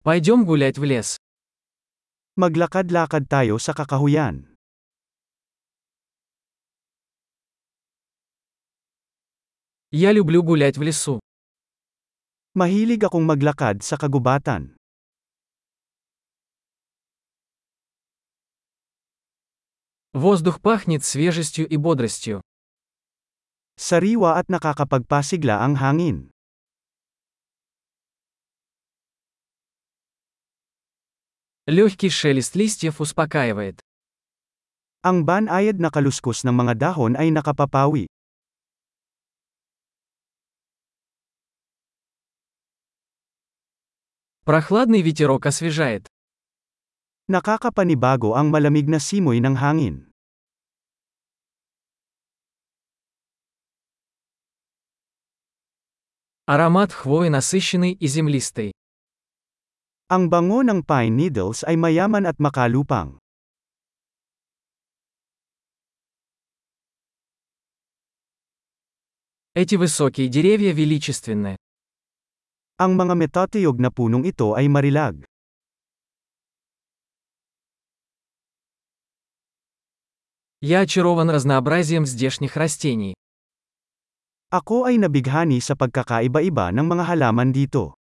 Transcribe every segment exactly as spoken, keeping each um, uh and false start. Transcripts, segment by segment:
Пойдем гулять в лес. Maglakad-lakad tayo sa kakahuyan. Я люблю гулять в лесу. Mahilig akong maglakad sa kagubatan. Воздух пахнет свежестью и бодростью. Sariwa at nakakapagpasigla ang hangin. Легкий шелест листьев успокаивает. Ang banayad na kaluskos ng mga dahon ay nakapapawi. Прохладный ветерок освежает. Nakakapanibago ang malamig na simoy ng hangin. Аромат хвои насыщенный и землистый. Ang bango ng pine needles ay mayaman at makalupang. Эти высокие деревья величественны. Ang mga metatiyog na punong ito ay marilag. Я очарован разнообразием здешних растений. Ako ay nabighani sa pagkakaiba-iba ng mga halaman dito.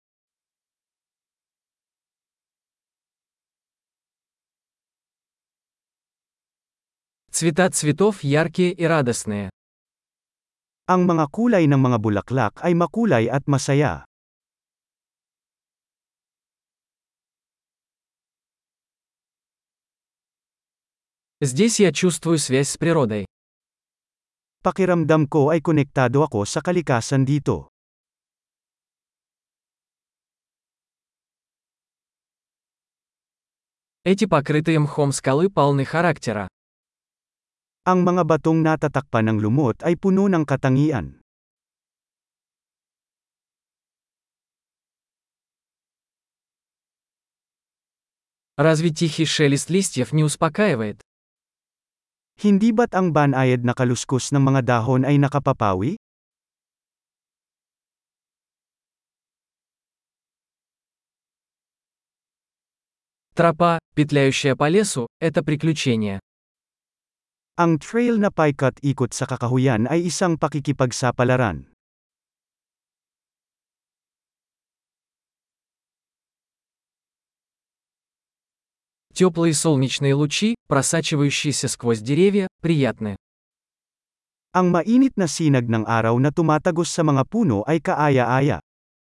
Цвета цветов яркие и радостные. Ang mga kulay ng mga bulaklak ay makulay at masaya. Здесь я чувствую связь с природой. Pakiramdam ko ay konektado ako sa kalikasan dito. Эти покрытые мхом скалы полны характера. Ang mga batong natatakpan ng lumot ay puno ng katangian. Разве тихий шелест листьев не успокаивает? Hindi ba't ang banayad na kaluskos ng mga dahon ay nakapapawi? Тропа, петляющая по лесу, это приключение. Ang trail na paikat-ikot sa kakahuyan ay isang pakikipagsapalaran. Теплые солнечные лучи, просачивающиеся сквозь деревья, приятны. Ang mainit na sinag ng araw na tumatagos sa mga puno ay kaaya-aya.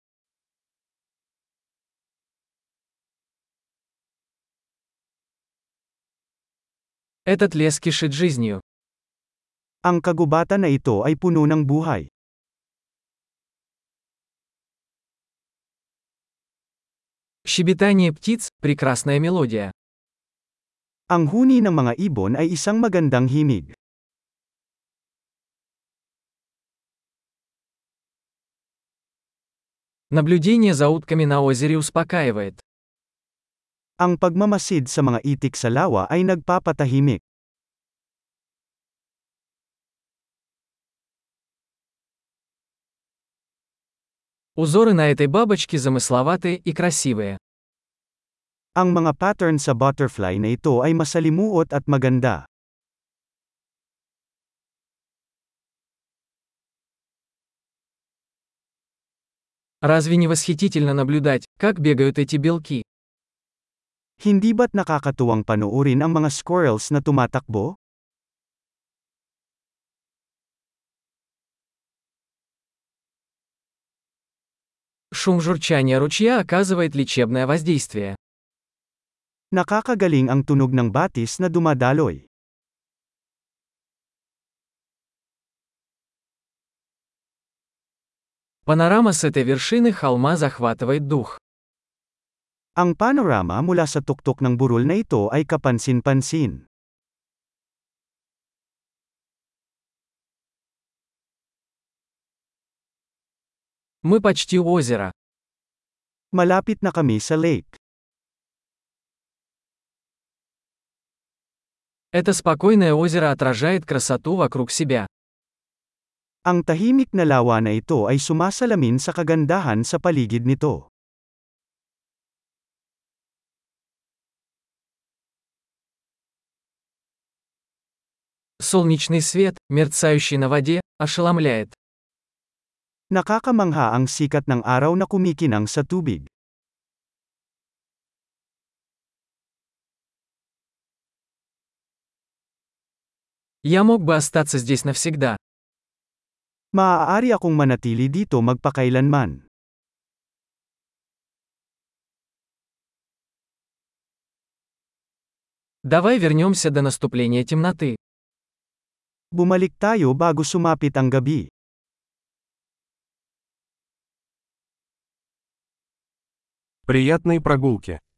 Этот лес кишит жизнью. Ang kagubatan na ito ay puno ng buhay. Щебетание птиц – прекрасная мелодия. Ang huni ng mga ibon ay isang magandang himig. Наблюдение за утками на озере успокаивает. Ang pagmamasid sa mga itik sa lawa ay nagpapatahimik. Узоры на этой бабочке замысловатые и красивые. Ang mga pattern sa butterfly na ito ay masalimuot at maganda. Разве не восхитительно наблюдать, как бегают эти белки? Hindi ba't nakakatuwang panoorin ang mga squirrels na tumatakbo? Шум журчания ручья оказывает лечебное воздействие. Nakakagaling ang tunog ng batis na dumadaloy. Панорама с этой вершины холма захватывает дух. Ang panorama mula sa tuktok ng burol na ito ay kapansin-pansin. Мы почти у озера. Malapit na kami sa lake. Это спокойное озеро отражает красоту вокруг себя. Ang tahimik na lawa na ito ay sumasalamin sa kagandahan sa paligid nito. Солнечный свет, мерцающий на воде, ошеломляет. Nakakamangha ang sikat ng araw na kumikinang sa tubig. Я мог бы остаться здесь навсегда. Maaari akong manatili dito magpakailanman. Давай вернемся до наступления темноты. Bumalik tayo bago sumapit ang gabi. Приятной прогулки.